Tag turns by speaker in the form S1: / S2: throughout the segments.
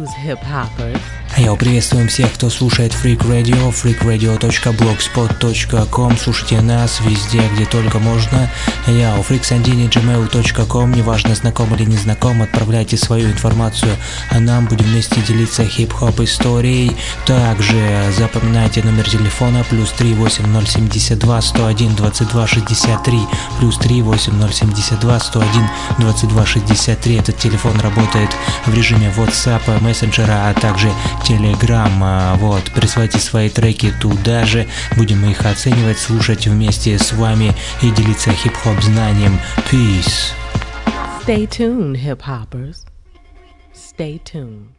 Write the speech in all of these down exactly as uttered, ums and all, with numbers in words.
S1: tunes, hip-hoppers.
S2: Йоу, приветствуем всех, кто слушает Freak Radio, freak radio точка blogspot точка com. Слушайте нас везде, где только можно. Йоу, freaksandini точка gmail точка com. Неважно, знаком или не знаком, отправляйте свою информацию, а нам будем вместе делиться хип-хоп историей. Также запоминайте номер телефона плюс три восемь ноль семь два сто один двадцать два шестьдесят три, плюс три восемь ноль семь два сто один двадцать два шестьдесят три. Этот телефон работает в режиме WhatsApp, мессенджера, а также Telegram. Вот, присылайте свои треки туда же, будем их оценивать, слушать вместе с вами и делиться хип-хоп знанием. Peace.
S1: Stay tuned, hip-hoppers. Stay tuned.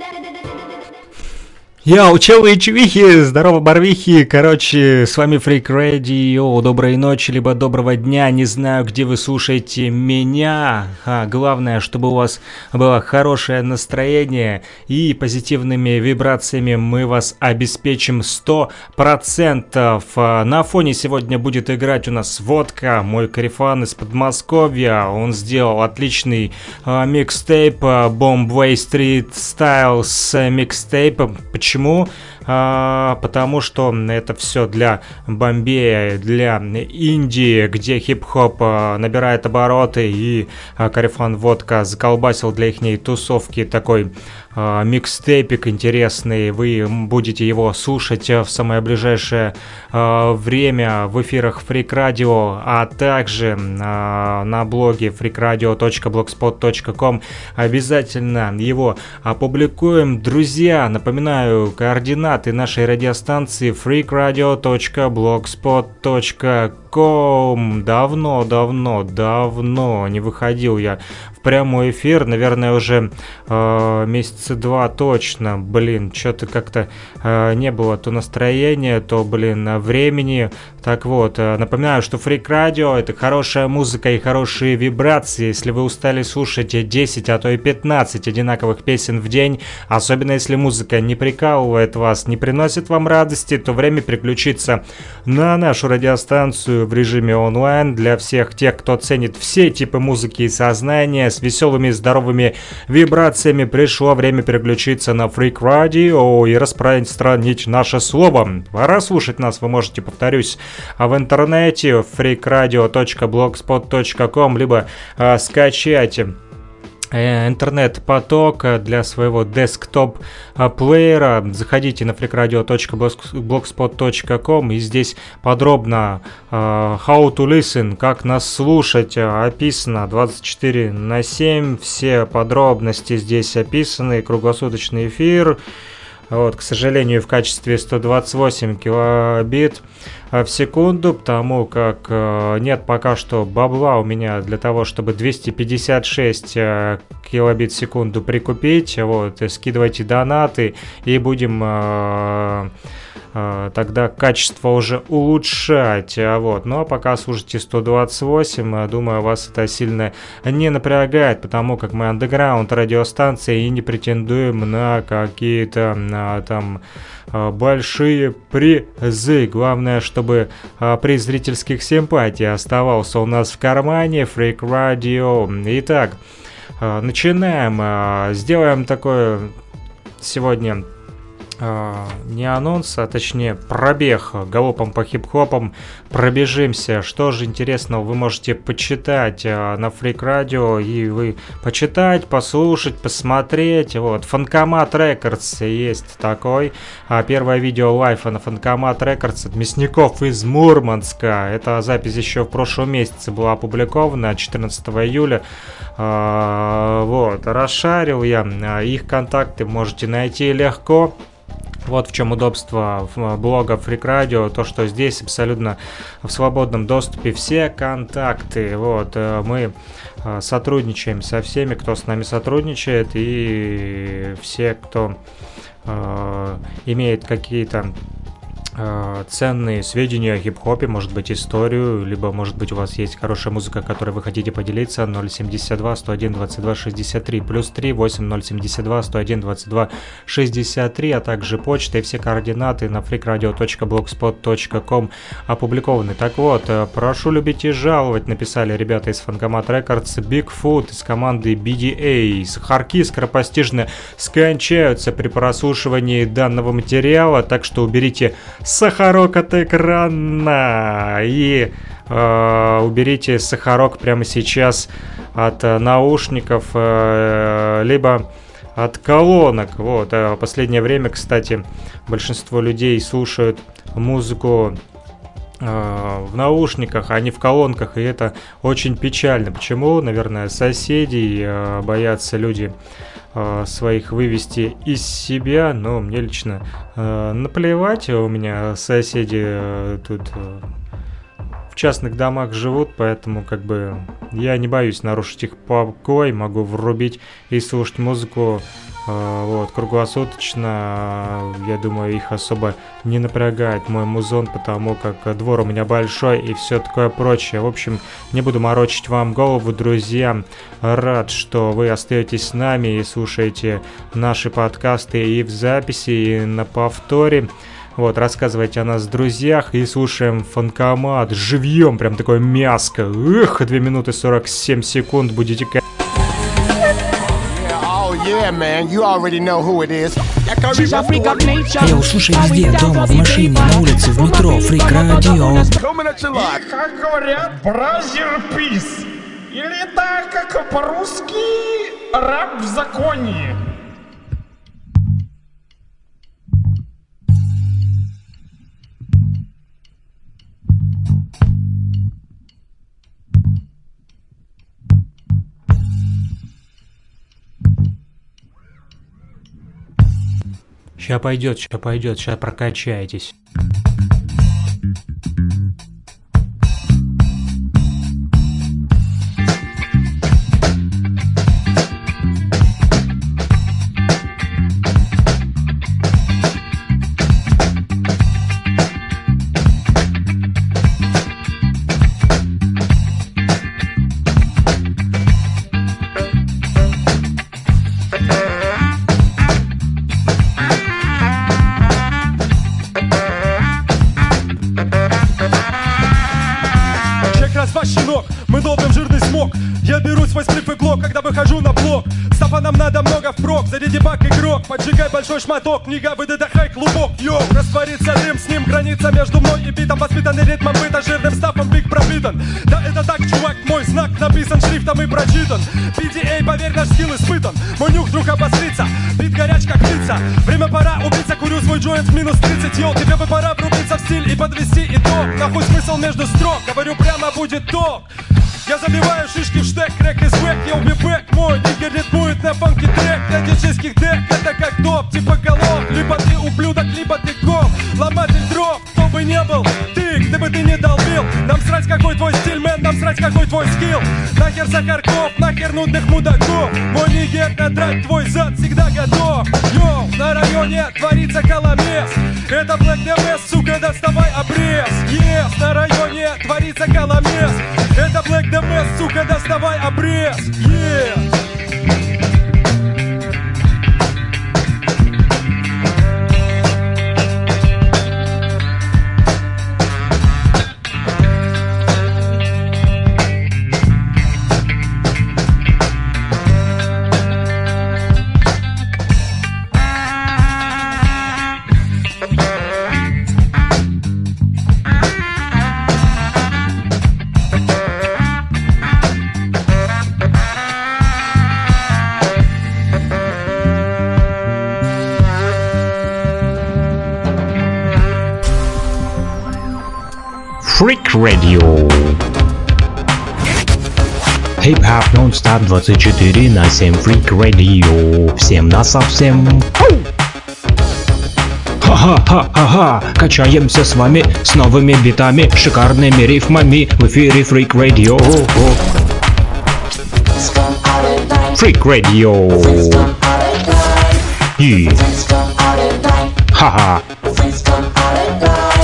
S2: Йоу, челы и чувихи, здорово, барвихи, короче, с вами Freak Radio, доброй ночи, либо доброго дня, не знаю, где вы слушаете меня, а главное, чтобы у вас было хорошее настроение и позитивными вибрациями мы вас обеспечим сто процентов. На фоне сегодня будет играть у нас Водка, мой корефан из Подмосковья, он сделал отличный а, микстейп, Bombay Street Styles микстейп. Почему? Почему? А, потому что это все для Бомбея, для Индии, где хип-хоп а, набирает обороты, и а, корефан Водка заколбасил для ихней тусовки такой а, микстейпик интересный. Вы будете его слушать в самое ближайшее а, время в эфирах Freak Radio, а также а, на блоге freak radio точка blogspot точка com. Обязательно его опубликуем. Друзья, напоминаю, координаты нашей радиостанции freak radio точка blogspot точка com. Давно, давно, давно не выходил я в прямой эфир, наверное, уже э, месяца два точно. Блин, что-то как-то э, не было то настроения, то, блин, времени. Так вот, э, напоминаю, что Freak Radio — это хорошая музыка и хорошие вибрации. Если вы устали слушать десять, а то и пятнадцать одинаковых песен в день, особенно если музыка не прикалывает вас, не приносит вам радости, то время переключиться на нашу радиостанцию в режиме онлайн. Для всех тех, кто ценит все типы музыки и сознания, с веселыми здоровыми вибрациями, пришло время переключиться на Freak Radio и распространить наше слово. Пора слушать нас вы можете, повторюсь, в интернете freak radio точка blogspot точка com, либо э, скачать интернет-поток для своего десктоп-плеера. Заходите на freak radio точка blogspot точка com, и здесь подробно uh, how to listen, как нас слушать, описано двадцать четыре на семь. Все подробности здесь описаны, круглосуточный эфир. Вот, к сожалению, в качестве сто двадцать восемь килобит в секунду, потому как э, нет пока что бабла у меня для того, чтобы двести пятьдесят шесть э, килобит в секунду прикупить. Вот, скидывайте донаты и будем э, э, тогда качество уже улучшать. Вот. Ну а пока слушайте сто двадцать восемь, думаю, вас это сильно не напрягает, потому как мы андеграунд радиостанция и не претендуем на какие-то на, там большие призы. Главное, чтобы а, приз зрительских симпатий оставался у нас в кармане. Freak Radio. Итак, а, начинаем. А, сделаем такое сегодня а, не анонс, а точнее пробег галопом по хип-хопам. Пробежимся. Что же интересного вы можете почитать а, на Freak Radio, и вы почитать, послушать, посмотреть. Вот, Фанкомат Рекордс есть такой. А, первое видео лайфа на Фанкомат Рекордс от мясников из Мурманска. Эта запись еще в прошлом месяце была опубликована, четырнадцатого июля. А, вот, расшарил я. Их контакты можете найти легко. Вот в чем удобство блога Freak Radio, то, что здесь абсолютно в свободном доступе все контакты. Вот, мы сотрудничаем со всеми, кто с нами сотрудничает, и все, кто э, имеет какие-то ценные сведения о хип-хопе, может быть, историю, либо, может быть, у вас есть хорошая музыка, которой вы хотите поделиться. Ноль семьдесят два сто один двадцать два шестьдесят три плюс три восемь ноль семьдесят два сто один двадцать два шестьдесят три, а также почта и все координаты на freakradio точка блогспот точка ком опубликованы. Так вот, прошу любить и жаловать, написали ребята из Фанкомат Рекордс. Bigfoot из команды би ди эй. Сахарки скоропостижно скончаются при прослушивании данного материала, так что уберите сахарок от экрана и э, уберите сахарок прямо сейчас от э, наушников, э, либо от колонок. Вот. А в последнее время, кстати, большинство людей слушают музыку э, в наушниках, а не в колонках, и это очень печально. Почему? Наверное, соседей э, боятся люди своих вывести из себя, но мне лично э, наплевать, у меня соседи э, тут э, в частных домах живут, поэтому как бы я не боюсь нарушить их покой, могу врубить и слушать музыку э, вот, круглосуточно. Я думаю, их особо не напрягает мой музон, потому как двор у меня большой и все такое прочее. В общем, не буду морочить вам голову, друзья. Рад, что вы остаетесь с нами и слушаете наши подкасты и в записи, и на повторе. Вот, рассказывайте о нас, друзьях, и слушаем Фанкомат живьем, прям такое мяско. Эх, две минуты сорок семь секунд, будете...
S3: Yeah, man, you already know who it is.
S4: Йоу, слушай везде, дома, в машине, на улице, в метро, Freak Radio.
S5: И, как говорят, бразер пис. Или так, как по-русски, раб в законе.
S2: Ща пойдет, ща пойдет, ща прокачаетесь.
S6: Мы долбим жирный смог. Я беру свой сплив и глок, когда выхожу на блок. Стопа нам надо много впрок, заряди бак игрок. Поджигай большой шматок, книга выдыхай клубок. Йоу, растворится дым, с ним граница между мной и битом. Воспитанный ритмом быта, жирным стафом биг пропитан. Да это так, чувак, мой знак написан шрифтом и прочитан. би ди эй, поверь, наш скилл испытан. Мой нюх вдруг обострится, бит горяч как птица. Время пора убиться, курю свой джойнт в минус тридцать. Йоу, тебе бы пора врубиться в стиль и подвести итог. Нахуй смысл между строк, говорю прямо, будет ток. Я забиваю шишки в штек, рэк из бэк, я убибэк. Мой нигер ритмует на фанки трек. Для диджейских дек это как топ, типа голов. Либо ты ублюдок, либо ты коп. Ломатель дров, кто бы не был ты, где бы ты не долбил. Нам срать какой твой стиль, мэн, нам срать какой твой скилл. Нахер сахарков, нахер нудных мудаков. Мой нигер надрать твой зад всегда готов. Йоу, на районе творится коломес. Это Black ди эм эс, сука, доставай обрез. Yes, на районе творится коломес. Это Black ди эм эс, сука, доставай обрез. Yes.
S2: Freak Radio.
S7: Хип-хоп нон-стоп двадцать четыре на семь Freak Radio. Всем на совсем. Ха-ха-ха-ха-ха. Качаемся с вами с новыми битами, шикарными рифмами в эфире Freak Radio. Freak Radio. И. Ха-ха.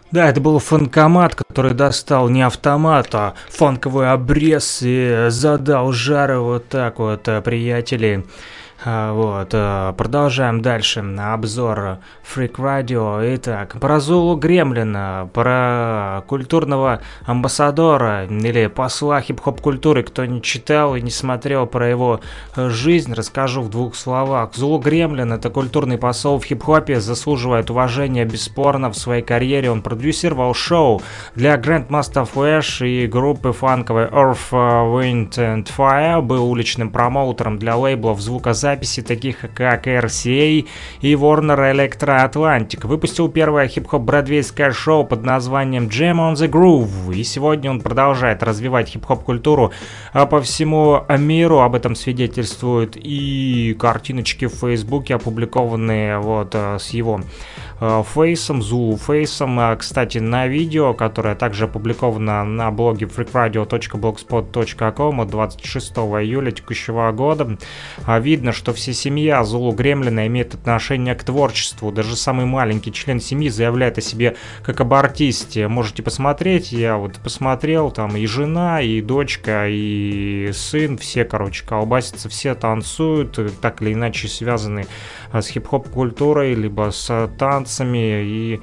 S2: Да, это был фанкомат, который достал не автомат, а фанковый обрез и задал жары вот так вот, приятели. Вот, продолжаем дальше обзор Freak Radio. Итак, про Зулу Гремлина, про культурного амбассадора или посла хип-хоп культуры. Кто не читал и не смотрел про его жизнь, расскажу в двух словах. Зулу Гремлин — это культурный посол в хип-хопе, заслуживает уважения бесспорно. В своей карьере он продюсировал шоу для Grandmaster Flash и группы фанковой Earth, Wind and Fire, был уличным промоутером для лейблов звукозаписи, таких как эр си эй и Warner Electro Atlantic. Выпустил первое хип-хоп бродвейское шоу под названием Jam on the Groove, и сегодня он продолжает развивать хип-хоп культуру по всему миру. Об этом свидетельствуют и картиночки в Фейсбуке, опубликованные вот с его фейсом, Zulu фейсом. Кстати, на видео, которое также опубликовано на блоге freak radio точка blogspot точка com от двадцать шестого июля текущего года, видно, что вся семья Зулу Гремлина имеет отношение к творчеству. Даже самый маленький член семьи заявляет о себе как об артисте. Можете посмотреть, я вот посмотрел, там и жена, и дочка, и сын, все, короче, колбасятся, все танцуют, так или иначе связаны с хип-хоп культурой, либо с танцами, и,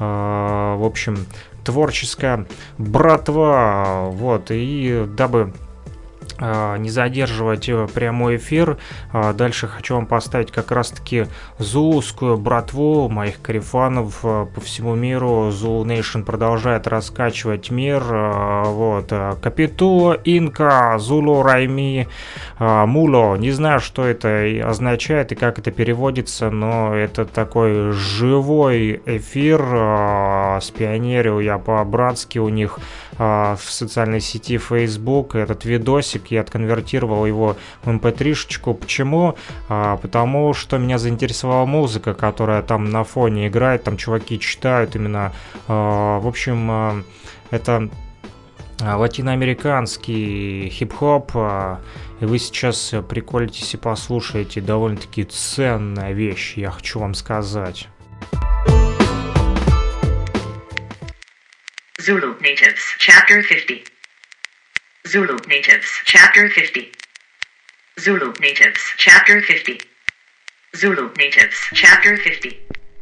S2: э, в общем, творческая братва. Вот, и дабы не задерживать прямой эфир, дальше хочу вам поставить как раз таки зулускую братву моих карифанов по всему миру. Zulu Nation продолжает раскачивать мир. Вот. Капиту, Инка, Зулу, Райми, Муло. Не знаю, что это означает и как это переводится, но это такой живой эфир. Спионерил я по-братски у них в социальной сети Facebook этот видосик. Я отконвертировал его в эм пэ три-шечку. Почему? А, потому что меня заинтересовала музыка, которая там на фоне играет, там чуваки читают именно. А, в общем, а, это латиноамериканский хип-хоп. А, и вы сейчас приколитесь и послушаете довольно-таки ценная вещь, я хочу вам сказать.
S8: Zulu Natives, Chapter fifty. Zulu Natives, Chapter fifty. Zulu Natives, Chapter fifty. Zulu Natives, Chapter fifty.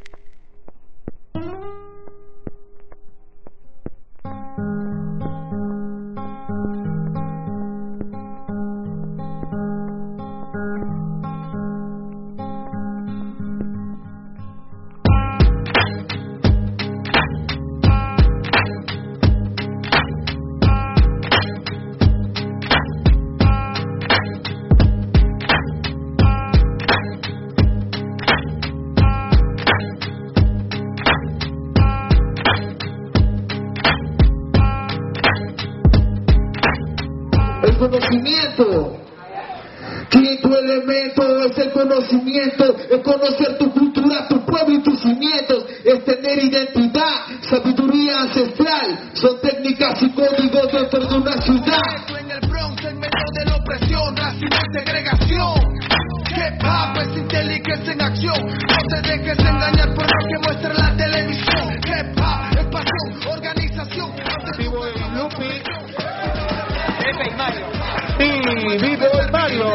S9: Conocimiento, quinto elemento es el conocimiento, es conocer tu cultura, tu pueblo y tus cimientos, es tener identidad, sabiduría ancestral, son técnicas y códigos dentro de una ciudad. En el Bronx, en medio de la opresión, racismo y segregación, hip hop es inteligencia en acción, no te dejes engañar por lo que muestra la televisión, hip hop es pasión, organización, activo de Lupi. Y vive el Mario.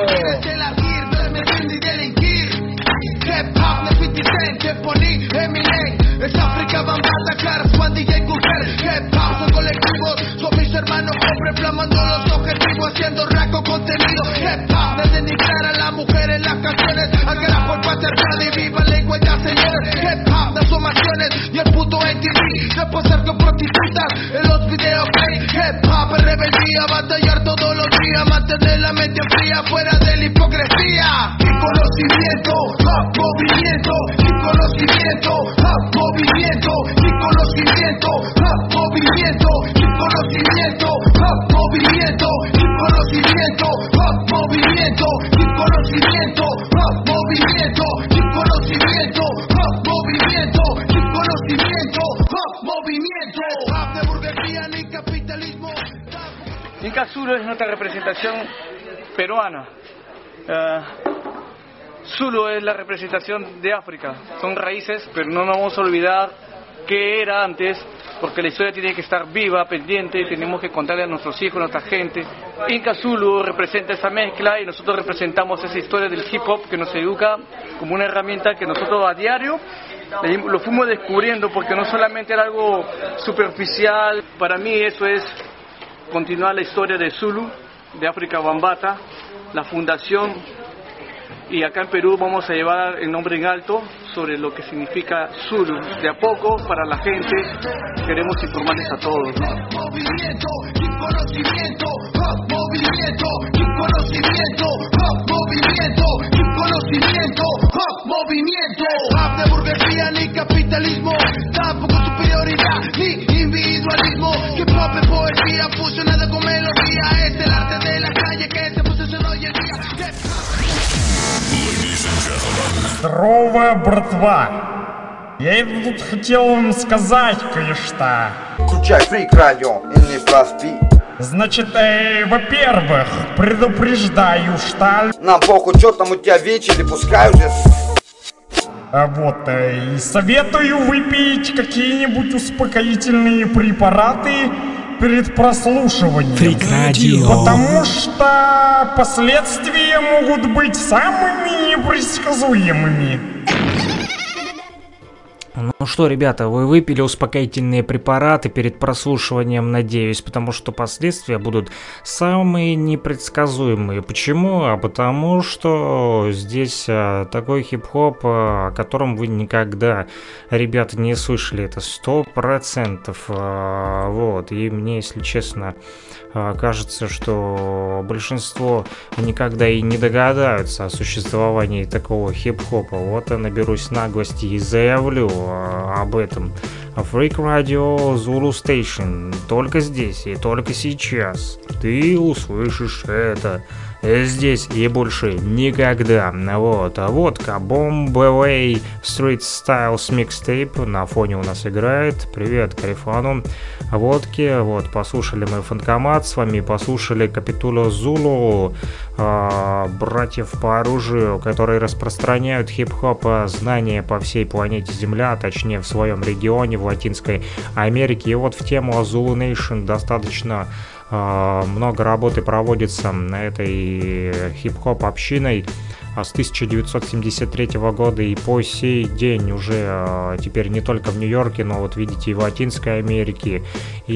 S9: Hip hop no es fifty cent, Teponi, Eminem. Es África, Bambata, Cars, Juan D J Cooker. Hip hop son colectivos, son mis hermanos hombres flamando los objetivos, haciendo raco contenido. Hip hop de denigrar a la mujer en las canciones, al carajo el patriarcado y viva la igualdad, señores. Hip hop de sumaciones y el puto M T V, de posar con prostitutas en los videos. Hip hop es rebeldía, batallar todos los días, mantener la mente fría, fuera de la hipocresía. Y conocimiento, hop, movimiento, y conocimiento, hop, movimiento, y conocimiento, hop, movimiento, y conocimiento, hop, movimiento, y conocimiento, hop, movimiento, y conocimiento, hop, movimiento, y conocimiento, hop, movimiento, y conocimiento, hop, movimiento, hop de burguesía ni capitalismo.
S10: Inca Zulu es nuestra representación peruana. Uh, Zulu es la representación de África. Son raíces, pero no nos vamos a olvidar qué era antes porque la historia tiene que estar viva, pendiente, tenemos que contarle a nuestros hijos, a nuestra gente. Inca Zulu representa esa mezcla y nosotros representamos esa historia del hip hop que nos educa como una herramienta que nosotros a diario lo fuimos descubriendo, porque no solamente era algo superficial. Para mí eso es continuar la historia de Zulu, de África Bambaataa, la fundación, y acá en Perú vamos a llevar el nombre en alto sobre lo que significa Zulu. De a poco, para la gente, queremos informarles a todos, ¿no?
S9: Movimiento, sin conocimiento, hop, movimiento, sin conocimiento, hop, movimiento, sin conocimiento, hop, movimiento. Hop de burguesía ni capitalismo, tampoco superioridad ni individualismo. Hip hop es poesía fusionada con melodía, es el arte de la calle que se posicionó hoy en día.
S5: Здорово, братва! Я это тут хотел вам сказать кое-что.
S11: Включай Freak Radio и не проспи.
S5: Значит, э, во-первых, предупреждаю, что...
S11: Нам похуй, что там у тебя вечер, пускай уже...
S5: А вот, э, и советую выпить какие-нибудь успокоительные препараты перед прослушиванием.
S4: Freak Radio.
S5: Потому что последствия могут быть самыми непредсказуемыми.
S2: Ну что, ребята, вы выпили успокоительные препараты перед прослушиванием, надеюсь, потому что последствия будут самые непредсказуемые. Почему? А потому что здесь а, такой хип-хоп, а, о котором вы никогда, ребята, не слышали. Это сто процентов. А, вот. И мне, если честно, а, кажется, что большинство никогда и не догадаются о существовании такого хип-хопа. Вот я наберусь наглости и заявлю об этом. Freak Radio Zulu Station. Только здесь и только сейчас ты услышишь это. Здесь и больше никогда. Вот. А водка Bomb Away Street Styles Mixtape на фоне у нас играет. Привет Карифану. Водки. Вот. Послушали мы Фанкомат. С вами послушали Капитуло Зулу, э, братьев по оружию, которые распространяют хип-хоп знания по всей планете Земля, а точнее в своем регионе, в Латинской Америке. И вот в тему Zulu Nation достаточно много работы проводится на этой хип-хоп общиной с тысяча девятьсот семьдесят третьего года и по сей день уже теперь не только в Нью-Йорке, но вот видите и в Латинской Америке,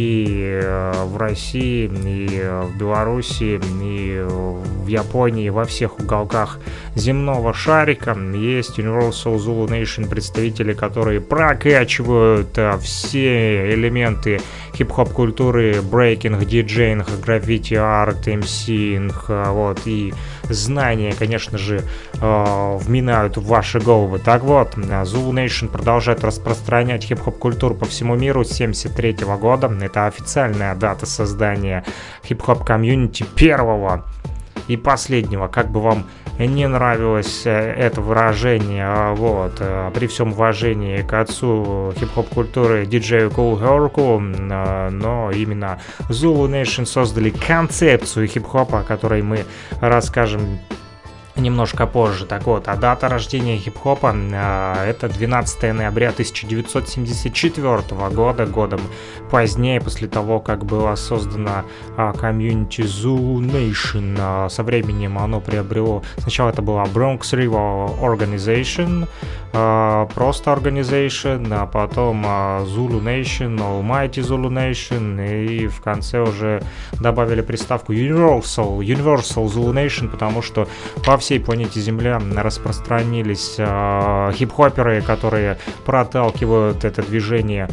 S2: и в России, и в Беларуси, и в Японии, во всех уголках земного шарика есть Universal Zulu Nation представители, которые прокачивают все элементы хип-хоп культуры, брейкинг, диджейнг, граффити, арт, эмсинг, вот, и знания, конечно же, вминают в ваши головы. Так вот, Zulu Nation продолжает распространять хип-хоп культуру по всему миру с семьдесят третьего года. Это официальная дата создания хип-хоп комьюнити первого и последнего. Как бы вам не нравилось это выражение, вот, при всем уважении к отцу хип-хоп культуры диджею Kool Herc, но именно Zulu Nation создали концепцию хип-хопа, о которой мы расскажем немножко позже. Так вот, а дата рождения хип-хопа э, это двенадцатого ноября тысяча девятьсот семьдесят четвёртого года, годом позднее, после того, как была создана э, комьюнити Zulu Nation. Э, со временем оно приобрело, сначала это была Bronx River Organization, э, просто Organization, а потом э, Zulu Nation, Almighty Zulu Nation, и в конце уже добавили приставку Universal, Universal Zulu Nation, потому что по всей всей планете Земля распространились э, хип-хоперы, которые проталкивают это движение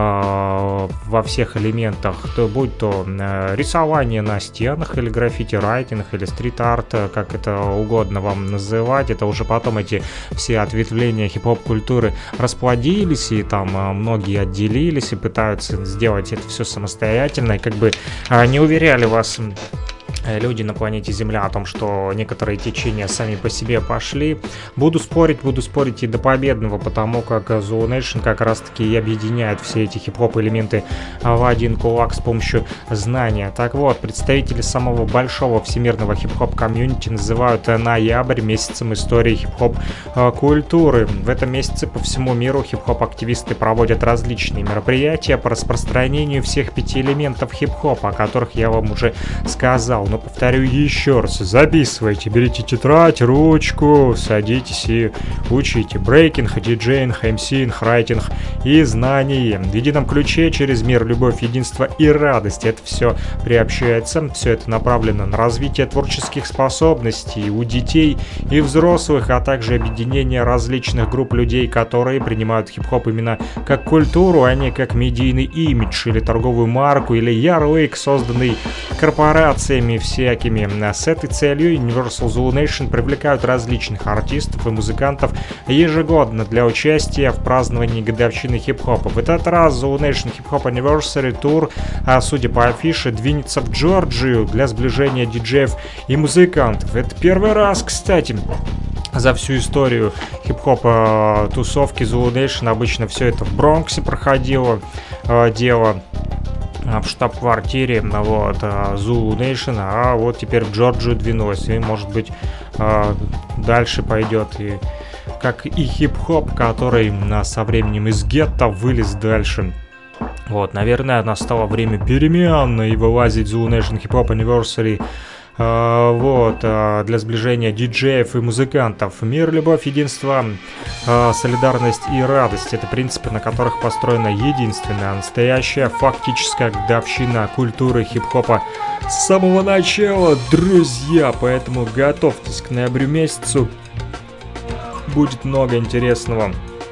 S2: э, во всех элементах, то, будь то э, рисование на стенах, или граффити-райтинг, или стрит-арт, как это угодно вам называть. Это уже потом эти все ответвления хип-хоп культуры расплодились, и там э, многие отделились и пытаются сделать это все самостоятельно, и как бы э, не уверяли вас люди на планете Земля, о том, что некоторые течения сами по себе пошли. Буду спорить, буду спорить и до победного, потому как Zulu Nation как раз-таки и объединяет все эти хип-хоп элементы в один кулак с помощью знания. Так вот, представители самого большого всемирного хип-хоп комьюнити называют ноябрь месяцем истории хип-хоп культуры. В этом месяце по всему миру хип-хоп-активисты проводят различные мероприятия по распространению всех пяти элементов хип-хопа, о которых я вам уже сказал. Но повторю еще раз, записывайте, берите тетрадь, ручку, садитесь и учите брейкинг, диджейнг, эмсинг, райтинг и знание. В едином ключе через мир, любовь, единство и радость. Это все приобщается, все это направлено на развитие творческих способностей у детей и взрослых, а также объединение различных групп людей, которые принимают хип-хоп именно как культуру, а не как медийный имидж или торговую марку или ярлык, созданный корпорациями всякими. С этой целью Universal Zulu Nation привлекают различных артистов и музыкантов ежегодно для участия в праздновании годовщины хип-хопа. В этот раз Zulu Nation Hip Hop Anniversary Tour, а судя по афише, двинется в Джорджию для сближения диджеев и музыкантов. Это первый раз, кстати, за всю историю хип-хопа тусовки Zulu Nation. Обычно все это в Бронксе проходило э, дело, в штаб-квартире вот, Zulu Nation, а вот теперь в Джорджию двинулась, и может быть дальше пойдет, и как и хип-хоп, который со временем из гетто вылез дальше. Вот, наверное, настало время перемен и вылазить Zulu Nation Hip Hop Anniversary Uh, вот, uh, для сближения диджеев и музыкантов. Мир, любовь, единство, uh, солидарность и радость — это принципы, на которых построена единственная настоящая фактическая годовщина культуры хип-хопа с самого начала, друзья. Поэтому готовьтесь к ноябрю месяцу, будет много интересного.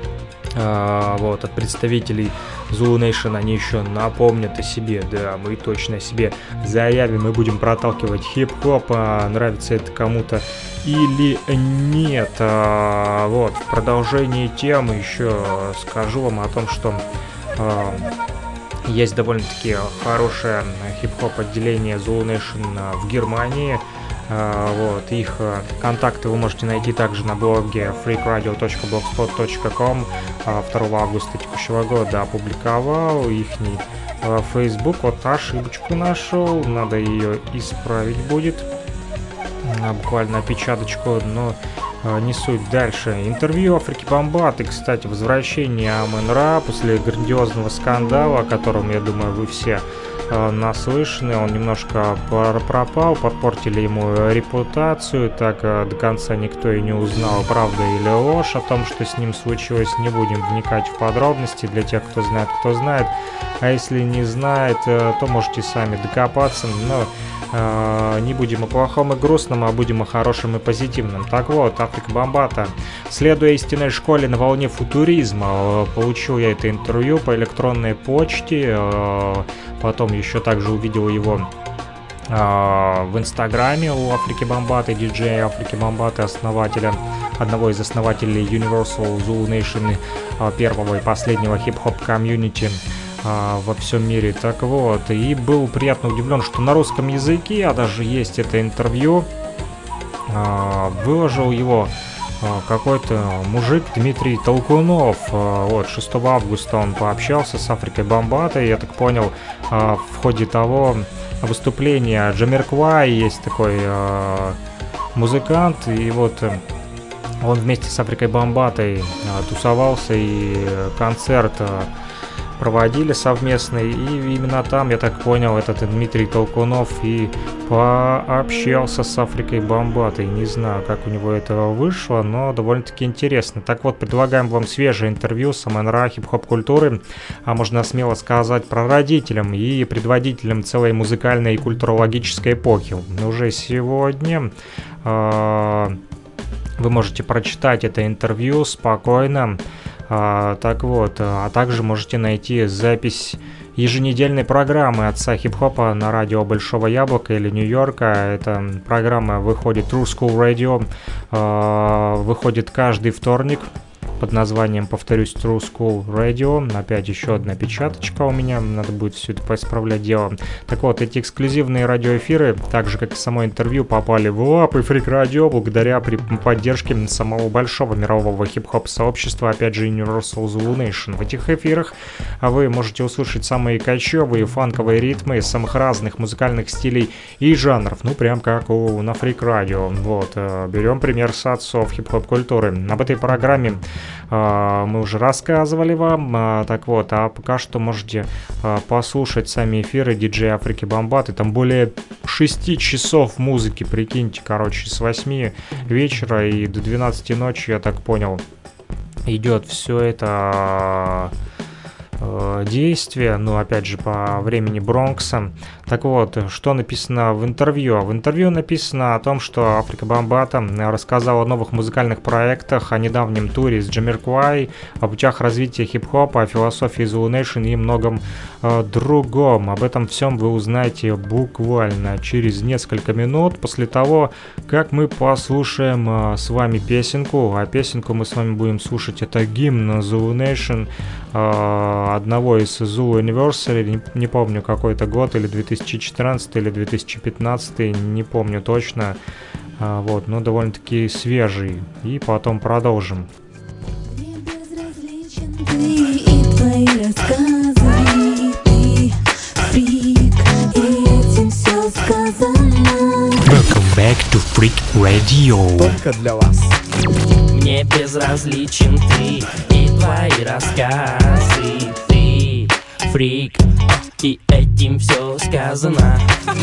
S2: Uh, вот, от представителей Zulu Nation они еще напомнят о себе, да, мы точно о себе заявим, мы будем проталкивать хип-хоп, а нравится это кому-то или нет. А, вот, в продолжении темы еще скажу вам о том, что а, есть довольно-таки хорошее хип-хоп отделение Zulu Nation в Германии. Вот, их контакты вы можете найти также на блоге фрик радио точка блогспот точка ком. второго августа текущего года опубликовал ихний Facebook. Вот ошибочку нашел, надо ее исправить будет. Буквально опечаточку, но не суть. Дальше. Интервью Африки Бамбаты, кстати, возвращение Амон-Ра после грандиозного скандала, о котором, я думаю, вы все наслышаны. Он немножко пропал, подпортили ему репутацию, так до конца никто и не узнал, правда или ложь о том, что с ним случилось. Не будем вникать в подробности, для тех, кто знает, кто знает, а если не знает, то можете сами докопаться, но э, не будем о плохом и грустном, а будем о хорошем и позитивном. Так вот, Африка Бамбата, следуя истинной школе на волне футуризма, получил я это интервью по электронной почте, э, потом еще также увидел его э, в инстаграме у Африки Бамбаты, диджея Африки Бамбаты, основателя, одного из основателей Universal Zulu Nation, э, первого и последнего хип-хоп комьюнити э, во всем мире. Так вот, и был приятно удивлен, что на русском языке, а даже есть это интервью, э, выложил его какой-то мужик Дмитрий Толкунов. Вот, шестого августа он пообщался с Африкой Бамбатой, я так понял, в ходе того выступления Джамирквай, есть такой музыкант, и вот он вместе с Африкой Бамбатой тусовался, и концерт проводили совместный, и именно там, я так понял, этот Дмитрий Толкунов и пообщался с Африкой Бамбатой. Не знаю, как у него это вышло, но довольно-таки интересно. Так вот, предлагаем вам свежее интервью с Амон-Ра хип-хоп культуры, а можно смело сказать, прародителем и предводителем целой музыкальной и культурологической эпохи. Уже сегодня э, вы можете прочитать это интервью спокойно. А, так вот, а также можете найти запись еженедельной программы отца хип-хопа на радио Большого Яблока или Нью-Йорка. Эта программа выходит True School Radio, а, выходит каждый вторник под названием, повторюсь, True School Radio. Опять еще одна печаточка у меня, надо будет все это поисправлять дело. Так вот, эти эксклюзивные радиоэфиры, так же как и само интервью, попали в лапы Freak Radio благодаря при поддержке самого большого мирового хип-хоп сообщества, опять же Universal Zulu Nation. В этих эфирах вы можете услышать самые кочевые фанковые ритмы из самых разных музыкальных стилей и жанров, ну прям как у на Freak Radio. Вот, берем пример с отцов хип-хоп культуры. Об этой программе э, мы уже рассказывали вам, э, так вот, а пока что можете э, послушать сами эфиры диджея Африки Бамбаты. Там более шести часов музыки, прикиньте, короче, с восьми вечера и до двенадцати ночи, я так понял, идет все это э, действие, ну, опять же, по времени Бронкса. Так вот, что написано в интервью? В интервью написано о том, что Африка Бамбата рассказала о новых музыкальных проектах, о недавнем туре с Джамирквай, о путях развития хип-хопа, о философии Zulu Nation и многом э, другом. Об этом всем вы узнаете буквально через несколько минут после того, как мы послушаем э, с вами песенку. А песенку мы с вами будем слушать, это гимн Zulu Nation, э, одного из Zulu Anniversary, не, не помню какой это год, или две тысячи четырнадцатый или две тысячи пятнадцатый, не помню точно, а, вот, но довольно-таки свежий, и потом продолжим.
S7: Welcome back to Freak Radio.
S12: Только для вас.
S4: Мне безразличен ты и твои рассказы. Ты фрик, и этим все сказано.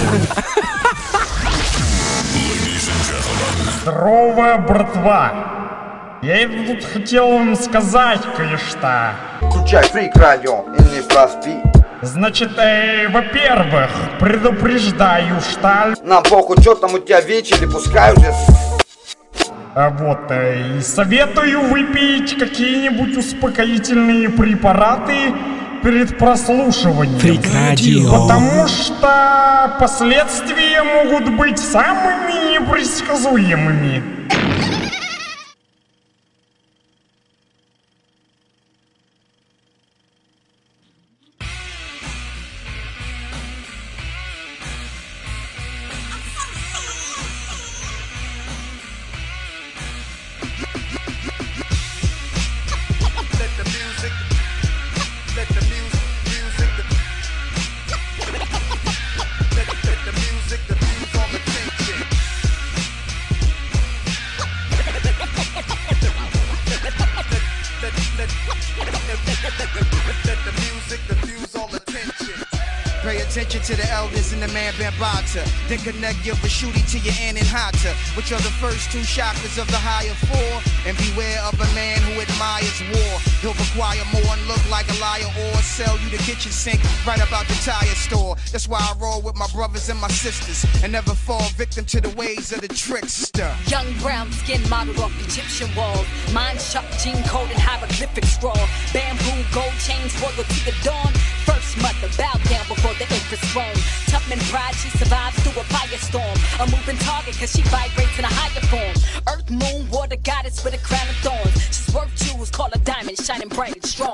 S5: Здорово, братва! Я тут хотел вам сказать кое-что.
S11: Включай Freak Radio in the Plus B.
S5: Значит, э, во-первых, предупреждаю, что...
S11: Нам похуй, что там у тебя вечер, пускай уже...
S5: А вот, э, и советую выпить какие-нибудь успокоительные препараты перед прослушиванием.
S4: Freak Radio.
S5: Потому что последствия могут быть самыми непредсказуемыми.
S9: To the elders and the man Bambata, then connect your Vashuti to your Ananhata, which are the first two chakras of the higher four. And beware of a man who admires war. He'll require more and look like a liar, or sell you the kitchen sink right about the tire store. That's why I roll with my brothers and my sisters and never fall victim to the ways of the trickster.
S13: Young brown skin modeled off Egyptian walls, mind sharp, gene code and hieroglyphic scroll. Bamboo gold chains royal to the dawn. First mother bowed down before the empress throne. Tubman pride, she survives through a firestorm. A moving target cause she vibrates in a higher form. Earth, moon, water goddess with a crown of thorns. She's worth jewels, call a diamond, shining bright and strong.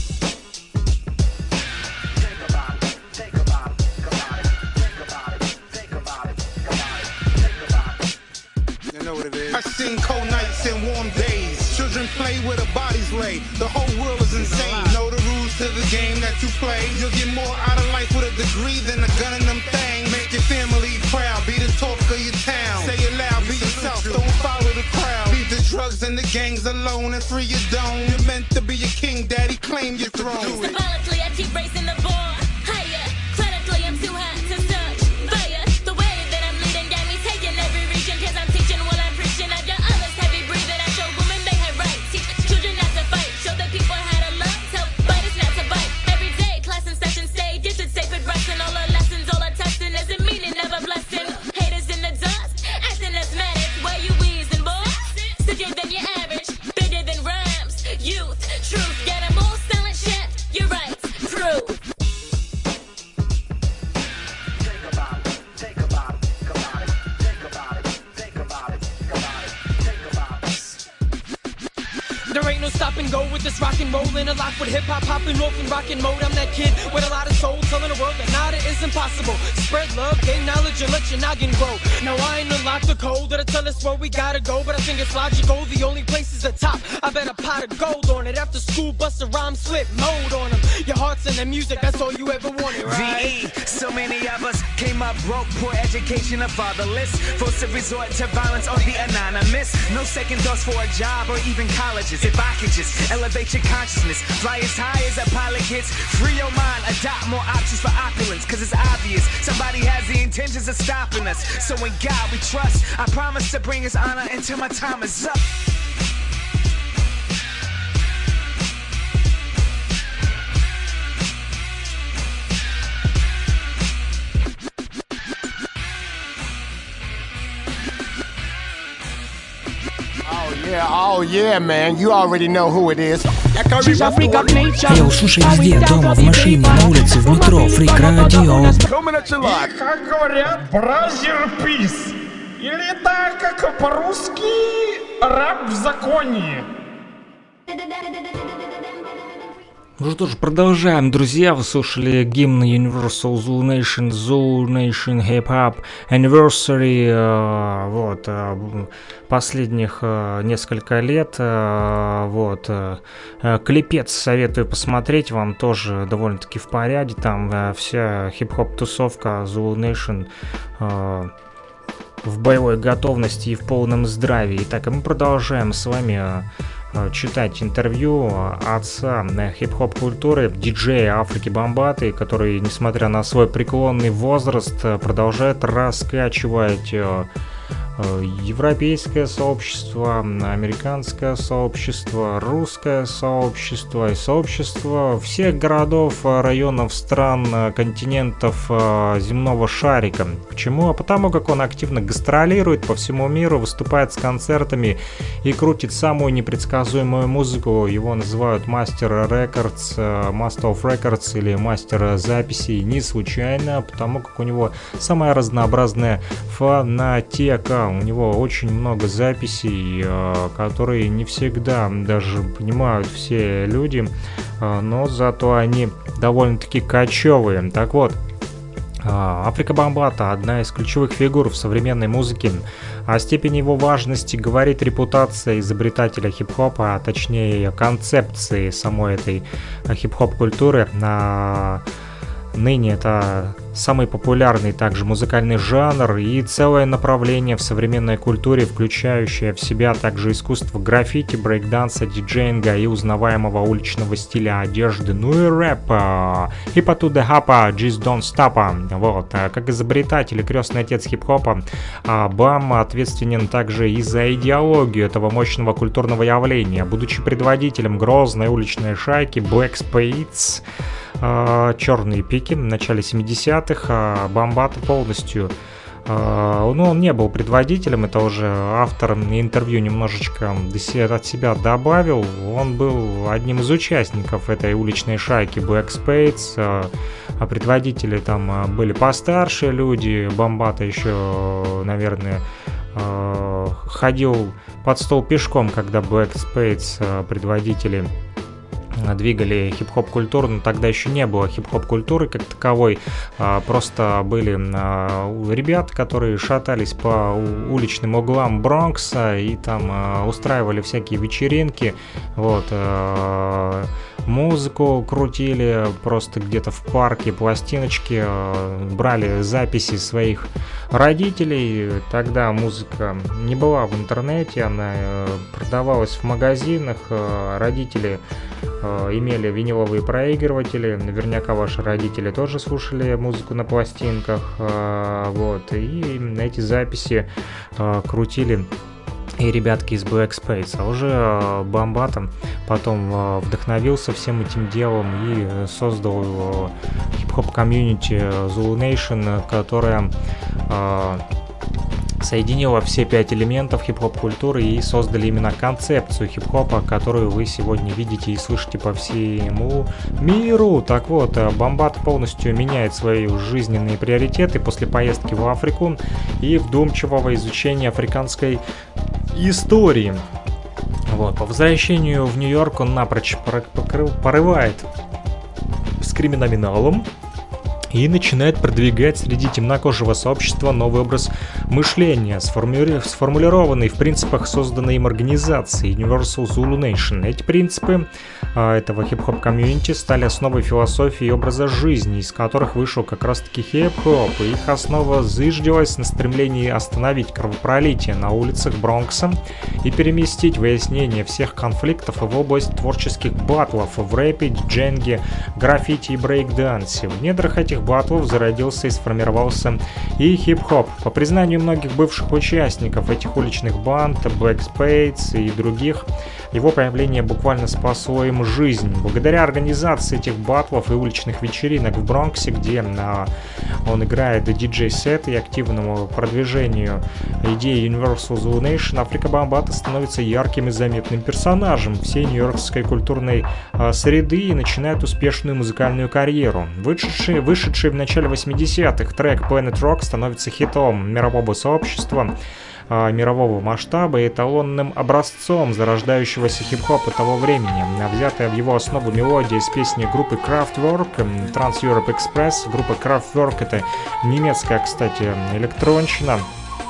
S14: I've seen cold nights and warm days. Children play where the bodies lay. The whole world is insane. Know the rules to the game that you play. You'll get more out of life with a degree than a gun in them things. Make your family proud. Be the talk of your town. Say it loud. Be yourself. Don't follow the crowd. Leave the drugs and the gangs alone and free your dome. You're meant to be a king, daddy. Claim your throne.
S15: Symbolically, I keep raising the bar higher. Clinically, I'm too hot to touch fire. The way that I'm leading got me taking every region. Cause I'm teaching while I'm preaching. I got others heavy breathing. I show women they have rights. Teach children not to fight. Show the people how to love. Tell fighters not to bite. Every day, class and session stay. This is sacred wrestling. All the lessons, all the testing. Isn't meaning, never blessing. Haters in the dust. Acting asthmatic. Where you wheezing, boy? Stickier than your average. Bigger than rhymes. Youth, truth. Get them all selling shit. You're right. Proof.
S12: and go with this rock and roll and a lock with hip hop hopping off and rockin' mode. I'm that kid with a lot of soul, telling the world that nada is impossible. Spread love, gain knowledge, and let your noggin grow. Now I ain't unlocked the code that'll tell us where we gotta go, but I think it's logical. The only place is the top. I bet a pot of gold on it. After school, bust a rhyme, slip mode on them. Your heart's in the music, that's all you ever wanted, right?
S16: V E, so many of us came up broke, poor education, and fatherless. Forced to resort to violence or the anonymous. No second thoughts for a job or even colleges. If I could just elevate your consciousness, fly as high as a pilot gets, free your mind, adopt more options for opulence. Cause it's obvious somebody has the intentions of stopping us. So in God we trust, I promise to bring His honor until my time is up.
S3: Yeah, oh yeah, man. You already know who it is.
S4: Йоу, слушай везде, дома, в машине, на улице, в метро, Freak Radio.
S5: И, как говорят, бразер-пис. Или так, как по-русски, раб в законе.
S2: Ну что ж, продолжаем, друзья. Вы слушали гимн Universal Zulu Nation, Zulu Nation Hip Hop Anniversary, э, вот, э, последних э, несколько лет, э, вот, э, клипец советую посмотреть, вам тоже довольно-таки в порядке, там э, вся хип-хоп тусовка Zulu Nation э, в боевой готовности и в полном здравии. Итак, мы продолжаем с вами э, читать интервью отца хип-хоп культуры, диджея Африки Бамбаты, который, несмотря на свой преклонный возраст, продолжает раскачивать европейское сообщество, американское сообщество, русское сообщество и сообщество всех городов, районов, стран, континентов земного шарика. Почему? А потому как он активно гастролирует по всему миру, выступает с концертами и крутит самую непредсказуемую музыку. Его называют мастер рекордс, Master of Records или мастер записей не случайно, потому как у него самая разнообразная фонотека. У него очень много записей, которые не всегда даже понимают все люди, но зато они довольно-таки качевые. Так вот, Африка Бамбата — одна из ключевых фигур в современной музыке. О степени его важности говорит репутация изобретателя хип-хопа, а точнее концепции самой этой хип-хоп культуры. Ныне это самый популярный также музыкальный жанр и целое направление в современной культуре, включающее в себя также искусство граффити, брейкданса, диджеинга и узнаваемого уличного стиля одежды, ну и рэпа. Hip to the hoppa, just don't stop. Вот. Как изобретатель и крестный отец хип-хопа, Бам ответственен также и за идеологию этого мощного культурного явления. Будучи предводителем грозной уличной шайки Black Spades, черные пики в начале семидесятых, Бамбата полностью, ну, он не был предводителем, это уже автор интервью немножечко от себя добавил. Он был одним из участников этой уличной шайки Black Spades, а предводители там были постарше люди. Бамбата еще, наверное, ходил под стол пешком, когда Black Spades предводители двигали хип-хоп культуру, но тогда еще не было хип-хоп культуры как таковой, а просто были а, ребята, которые шатались по уличным углам Бронкса и там а, устраивали всякие вечеринки, вот, а, музыку крутили просто где-то в парке, пластиночки, а, брали записи своих родителей. Тогда музыка не была в интернете, она продавалась в магазинах, а, родители имели виниловые проигрыватели, наверняка ваши родители тоже слушали музыку на пластинках, вот, и эти записи крутили и ребятки из Black Spades. А уже Бамбата потом вдохновился всем этим делом и создал хип-хоп комьюнити Zulu Nation, которая соединила все пять элементов хип-хоп культуры и создали именно концепцию хип-хопа, которую вы сегодня видите и слышите по всему миру. Так вот, Бамбат полностью меняет свои жизненные приоритеты после поездки в Африку и вдумчивого изучения африканской истории. Вот. По возвращению в Нью-Йорк он напрочь порывает с криминалом и начинает продвигать среди темнокожего сообщества новый образ мышления, сформули... сформулированный в принципах созданной им организации Universal Zulu Nation. Эти принципы а, этого хип-хоп комьюнити стали основой философии и образа жизни, из которых вышел как раз-таки хип-хоп, и их основа зыждилась на стремлении остановить кровопролитие на улицах Бронкса и переместить выяснение всех конфликтов в область творческих батлов в рэпе, дженге, граффити и брейк-дансе. В недрах этих батлов зародился и сформировался и хип-хоп. По признанию многих бывших участников этих уличных банд, Black Spades и других, его появление буквально спасло им жизнь. Благодаря организации этих батлов и уличных вечеринок в Бронксе, где а, он играет диджей-сет, и активному продвижению идеи Universal Zulu Nation, Африка Бамбата становится ярким и заметным персонажем всей нью-йоркской культурной а, среды и начинает успешную музыкальную карьеру. Вышедший, вышедший в начале восьмидесятых трек Planet Rock становится хитом мирового сообщества, мирового масштаба и эталонным образцом зарождающегося хип-хопа того времени. Взятая в его основу мелодия из песни группы Kraftwerk Trans Europe Express. Группа Kraftwerk — это немецкая, кстати, электронщина.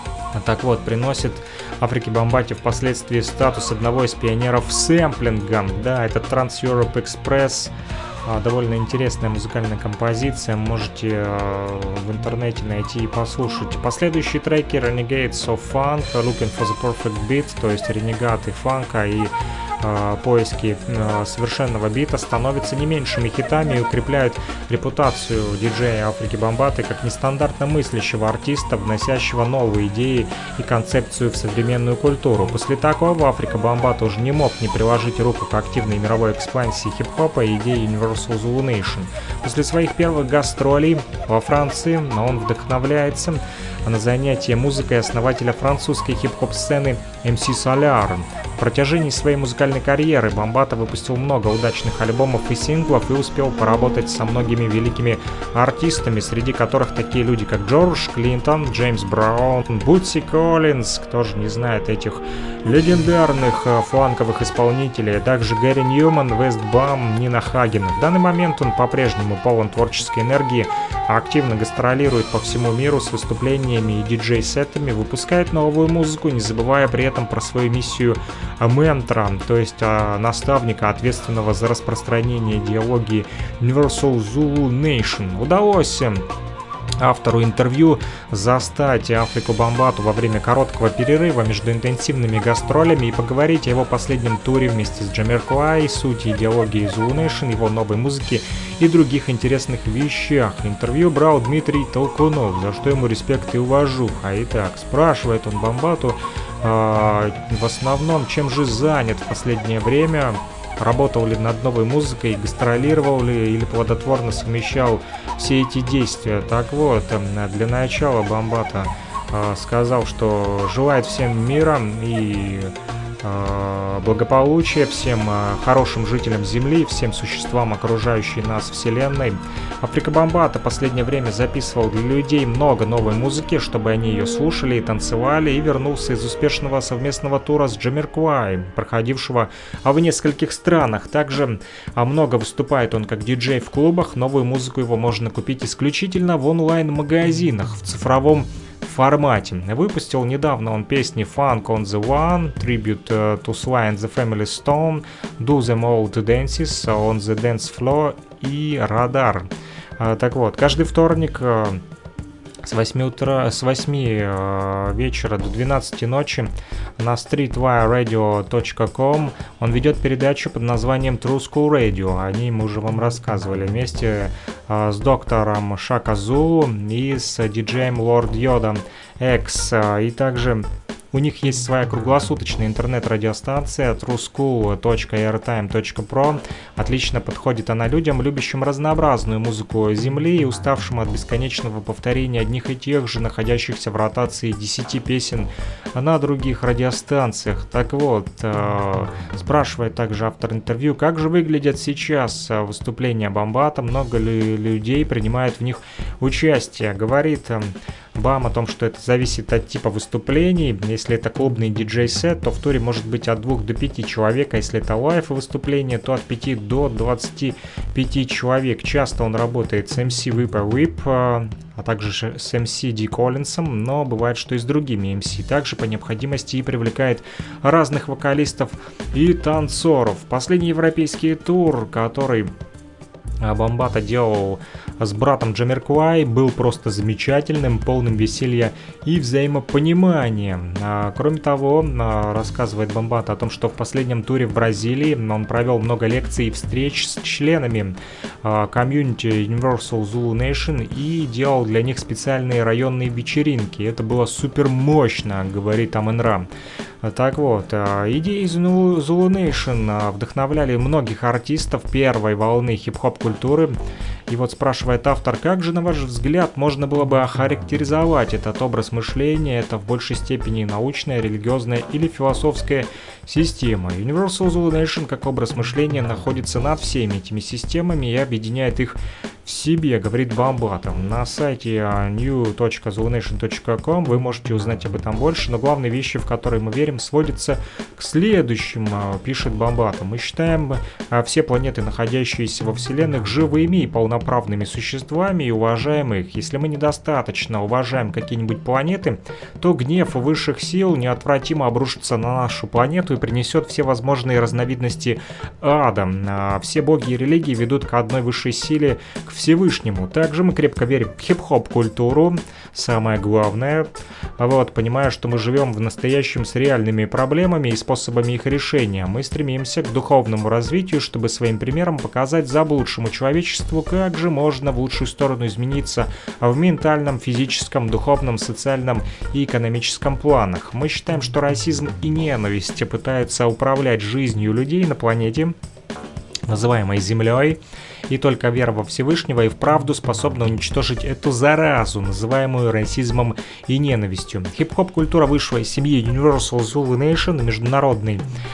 S2: Так вот, приносит Африке Бамбате впоследствии статус одного из пионеров сэмплинга. Да, это Trans Europe Express. Довольно интересная музыкальная композиция, можете э, в интернете найти и послушать. Последующие треки Renegades of Funk, Looking for the Perfect Beat, то есть ренегаты фанка и э, поиски э, совершенного бита, становятся не меньшими хитами и укрепляют репутацию диджея Африки Бамбаты как нестандартно мыслящего артиста, вносящего новые идеи и концепцию в современную культуру. После такого Африка Бамбата уже не мог не приложить руку к активной мировой экспансии хип-хопа и идеи Universal Zulu Nation. После своих первых гастролей во Франции он вдохновляется на занятия музыкой основателя французской хип-хоп сцены эм си Solar. В протяжении своей музыкальной карьеры Бамбата выпустил много удачных альбомов и синглов и успел поработать со многими великими артистами, среди которых такие люди, как Джордж Клинтон, Джеймс Браун, Бутси Коллинз, кто же не знает этих легендарных фанковых исполнителей, а также Гэри Ньюман, Вестбам, Нина Хаген. В данный момент он по-прежнему полон творческой энергии, активно гастролирует по всему миру с выступлениями и диджей-сетами, выпускает новую музыку, не забывая при этом про свою миссию ментора, то есть а, наставника, ответственного за распространение идеологии Universal Zulu Nation. Удалось автору интервью застать Африку Бамбату во время короткого перерыва между интенсивными гастролями и поговорить о его последнем туре вместе с Джамирквай, сути идеологии Zulu Nation, его новой музыки и других интересных вещах. Интервью брал Дмитрий Толкунов, за что ему респект и уважуха. Итак, спрашивает он Бамбату э, в основном, чем же занят в последнее время, работал ли над новой музыкой, гастролировал ли или плодотворно совмещал все эти действия. Так вот, для начала Бамбата э, сказал, что желает всем мира и э, благополучия, всем э, хорошим жителям Земли, всем существам, окружающей нас Вселенной. Африка Бамбата в последнее время записывал для людей много новой музыки, чтобы они ее слушали и танцевали, и вернулся из успешного совместного тура с Джамирквай, проходившего в нескольких странах. Также много выступает он как диджей в клубах, новую музыку его можно купить исключительно в онлайн-магазинах, в цифровом формате. Выпустил недавно он песни Funk on the One, Tribute to Sly and the Family Stone, Do Them All to Dances, On the Dance Floor и Radar. Так вот, каждый вторник с восьми утра, с восьми вечера до двенадцати ночи на streetwire radio точка com он ведет передачу под названием True School Radio. О ней мы уже вам рассказывали вместе с доктором Шака Зулу и с диджеем Lord Yoda X. И также у них есть своя круглосуточная интернет-радиостанция тру скул точка эйртайм точка про. Отлично подходит она людям, любящим разнообразную музыку Земли и уставшим от бесконечного повторения одних и тех же, находящихся в ротации десяти песен на других радиостанциях. Так вот, э, спрашивает также автор интервью, как же выглядят сейчас выступления Бамбата, много ли людей принимает в них участия. Говорит Бам о том, что это зависит от типа выступлений. Если это клубный диджей-сет, то в туре может быть от двух до пяти человек, а если это лайв выступление, то от пяти до двадцати пяти человек. Часто он работает с эм си Whip Whip, а также с эм си Ди Коллинсом, но бывает, что и с другими эм си. Также по необходимости и привлекает разных вокалистов и танцоров. Последний европейский тур, который Бомбата делал с братом Джамирквай, был просто замечательным, полным веселья и взаимопонимания. А, кроме того, а, рассказывает Бомбата о том, что в последнем туре в Бразилии он провел много лекций и встреч с членами а, комьюнити Universal Zulu Nation и делал для них специальные районные вечеринки. Это было супер мощно, говорит Амен-Ра. Так вот, идеи Zulu Nation вдохновляли многих артистов первой волны хип-хоп культуры. И вот спрашивает автор, как же, на ваш взгляд, можно было бы охарактеризовать этот образ мышления? Это в большей степени научная, религиозная или философская система. Universal Zulu Nation как образ мышления находится над всеми этими системами и объединяет их в себе, говорит Бомбата. На сайте нью точка зулунэйшн точка ком вы можете узнать об этом больше, но главные вещи, в которые мы верим, сводятся к следующему, пишет Бомбата. Мы считаем все планеты, находящиеся во Вселенных, живыми и полноправными существами и уважаем их. Если мы недостаточно уважаем какие-нибудь планеты, то гнев высших сил неотвратимо обрушится на нашу планету и принесет все возможные разновидности ада. Все боги и религии ведут к одной высшей силе, к Всевышнему. Также мы крепко верим в хип-хоп-культуру, самое главное, вот, понимая, что мы живем в настоящем с реальными проблемами и способами их решения. Мы стремимся к духовному развитию, чтобы своим примером показать заблудшему человечеству, как же можно в лучшую сторону измениться в ментальном, физическом, духовном, социальном и экономическом планах. Мы считаем, что расизм и ненависть пытаются управлять жизнью людей на планете, называемой Землей, и только вера во Всевышнего и в правду способна уничтожить эту заразу, называемую расизмом и ненавистью. Хип-хоп-культура вышла из семьи Universal Zulu Nation, международной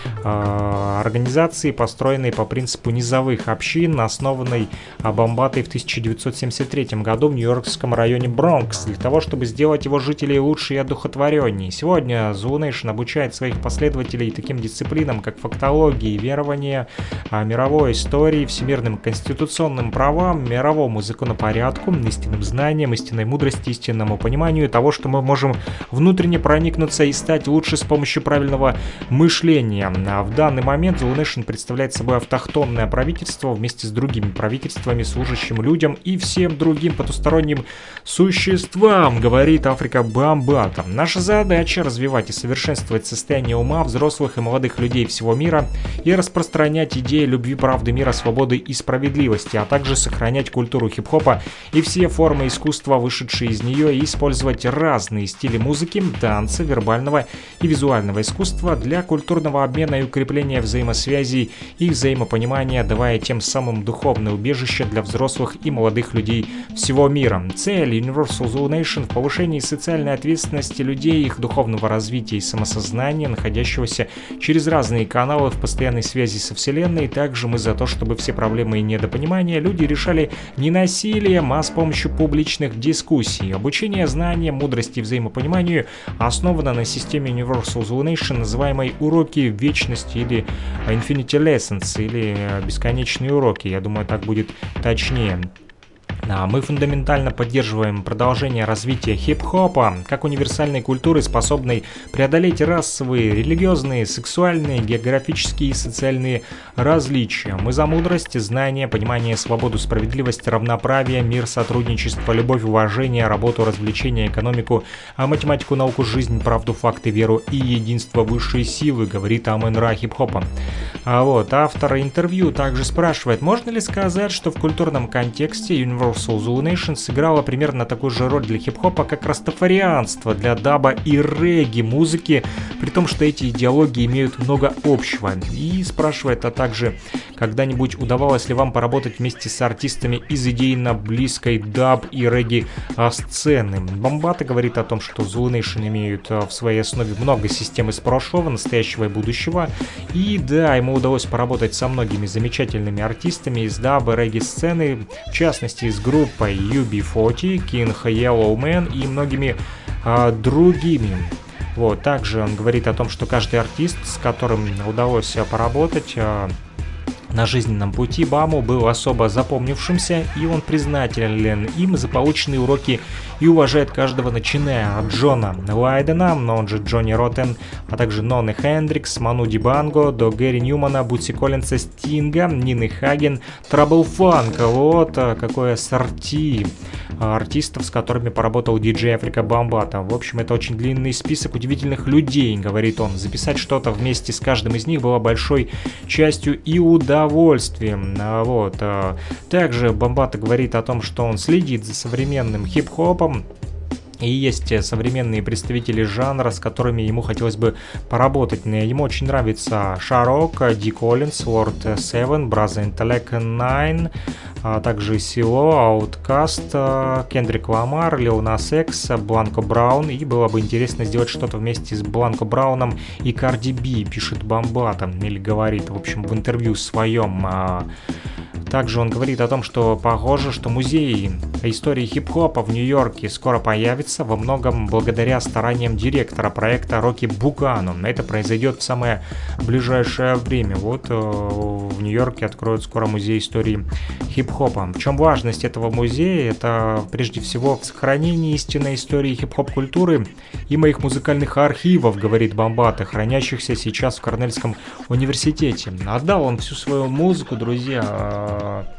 S2: э, организации, построенной по принципу низовых общин, основанной Бомбатой в тысяча девятьсот семьдесят третьем году в нью-йоркском районе Бронкс, для того, чтобы сделать его жителей лучше и одухотвореннее. Сегодня Zulu Nation обучает своих последователей таким дисциплинам, как фактологии, верования, мировой истории, всемирным конституционным правам, мировому законопорядку, истинным знаниям, истинной мудрости, истинному пониманию того, что мы можем внутренне проникнуться и стать лучше с помощью правильного мышления. А в данный момент Zulu Nation представляет собой автохтонное правительство вместе с другими правительствами, служащим людям и всем другим потусторонним существам, говорит Африка Бомбата. Наша задача — развивать и совершенствовать состояние ума взрослых и молодых людей всего мира и распространять идеи любви, правды, мира, свободы и справедливости, а также сохранять культуру хип-хопа и все формы искусства, вышедшие из нее, и использовать разные стили музыки, танца, вербального и визуального искусства для культурного обмена и укрепления взаимосвязей и взаимопонимания, давая тем самым духовное убежище для взрослых и молодых людей всего мира. Цель Universal Zulu Nation в повышении социальной ответственности людей, их духовного развития и самосознания, находящегося через разные каналы в постоянной связи со Вселенной. Также мы за то, чтобы все проблемы и недопонимания люди решали не насилием, а с помощью публичных дискуссий. Обучение знаниям, мудрости и взаимопониманию основано на системе Universal Zulu Nation, называемой уроки вечности или Infinity Lessons, или бесконечные уроки. Я думаю, так будет точнее. Мы фундаментально поддерживаем продолжение развития хип-хопа как универсальной культуры, способной преодолеть расовые, религиозные, сексуальные, географические и социальные различия. Мы за мудрость, знание, понимание, свободу, справедливость, равноправие, мир, сотрудничество, любовь, уважение, работу, развлечение, экономику, математику, науку, жизнь, правду, факты, веру и единство высшей силы, говорит Амен-Ра хип-хопа. А вот автор интервью также спрашивает, можно ли сказать, что в культурном контексте Universal Zulu Nation сыграла примерно такую же роль для хип-хопа, как растафарианство для даба и регги музыки, при том, что эти идеологии имеют много общего. И спрашивает, а также, когда-нибудь удавалось ли вам поработать вместе с артистами из идейно близкой даб и регги сцены? Бомбата говорит о том, что Zulu Nation имеют в своей основе много систем из прошлого, настоящего и будущего. И да, ему удалось поработать со многими замечательными артистами из даб и регги сцены, в частности с группой ю би сорок, King Yellow Man и многими а, другими. Вот, также он говорит о том, что каждый артист, с которым удалось поработать а, на жизненном пути Баму, был особо запомнившимся, и он признателен им за полученные уроки и уважает каждого, начиная от Джона Лайдена, но он же Джонни Роттен, а также Ноны Хендрикс, Ману Дибанго, до Гэри Ньюмана, Бутси Коллинса, Стинга, Нины Хаген, Трабл Фанк. Вот какое ассорти артистов, с которыми поработал диджей Африка Бомбата. В общем, это очень длинный список удивительных людей, говорит он. Записать что-то вместе с каждым из них было большой частью и удовольствием. Вот. Также Бомбата говорит о том, что он следит за современным хип-хопом, и есть современные представители жанра, с которыми ему хотелось бы поработать. Ему очень нравится Шарок, Ди Коллинс, Lord Seven, Brother Intellect Nine, а также Сило, Outkast, Кендрик Ламар, Lil Nas X, Бланко Браун. И было бы интересно сделать что-то вместе с Бланко Брауном и Карди Би, пишет Бомбата, или говорит, в общем, в интервью своем. Также он говорит о том, что похоже, что музей истории хип-хопа в Нью-Йорке скоро появится, во многом благодаря стараниям директора проекта Рокки Букану. Это произойдет в самое ближайшее время. Вот в Нью-Йорке откроют скоро музей истории хип-хопа. В чем важность этого музея? Это прежде всего в сохранении истинной истории хип-хоп-культуры и моих музыкальных архивов, говорит Бомбата, хранящихся сейчас в Корнельском университете. Отдал он всю свою музыку, друзья,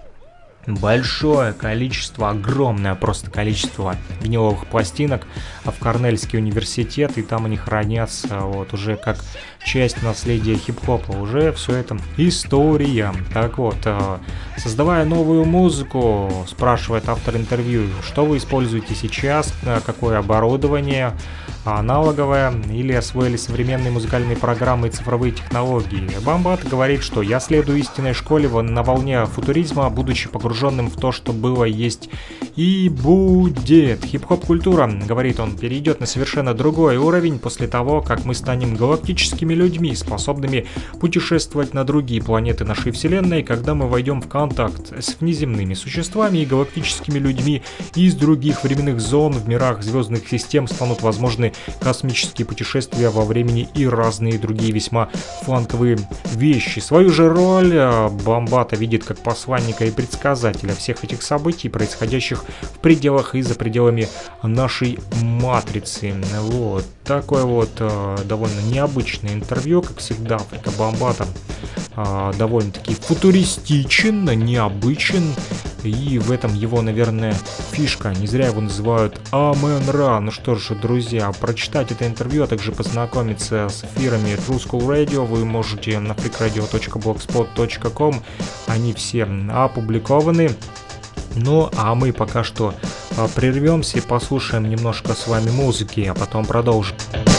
S2: большое количество, огромное просто количество виниловых пластинок в Корнельский университет, и там они хранятся вот уже как часть наследия хип-хопа. Уже все это история. Так вот, создавая новую музыку, спрашивает автор интервью, что вы используете сейчас, какое оборудование, аналоговое, или освоили современные музыкальные программы и цифровые технологии. Бомбат говорит, что я следую истинной школе на волне футуризма, будучи погруженным в то, что было, есть и будет. Хип-хоп-культура, говорит он, перейдет на совершенно другой уровень после того, как мы станем галактическими людьми, способными путешествовать на другие планеты нашей Вселенной, когда мы войдем в контакт с внеземными существами и галактическими людьми из других временных зон в мирах звездных систем, станут возможны космические путешествия во времени и разные другие весьма фланковые вещи. Свою же роль Бомбата видит как посланника и предсказателя всех этих событий, происходящих в пределах и за пределами нашей матрицы. Вот такое вот э, довольно необычное интервью, как всегда. Африка Бомбата э, довольно-таки футуристичен, необычен, и в этом его, наверное, фишка. Не зря его называют Амен-Ра. Ну что ж, друзья, прочитать это интервью, а также познакомиться с эфирами True School Radio вы можете на freakradio точка blogspot точка com. Они все опубликованы. Ну, а мы пока что прервемся и послушаем немножко с вами музыки, а потом продолжим.